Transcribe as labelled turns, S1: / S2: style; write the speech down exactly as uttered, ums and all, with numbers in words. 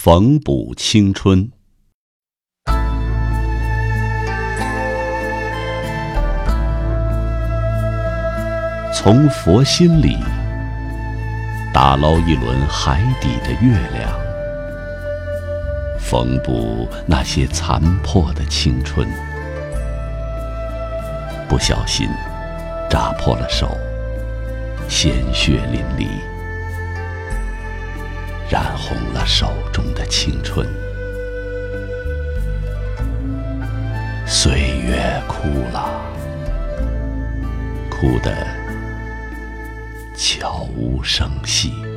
S1: 缝补青春。从佛心里打捞一轮海底的月亮，缝补那些残破的青春。不小心扎破了手，鲜血淋漓，染红了手中的青春。岁月哭了，哭得悄无声息。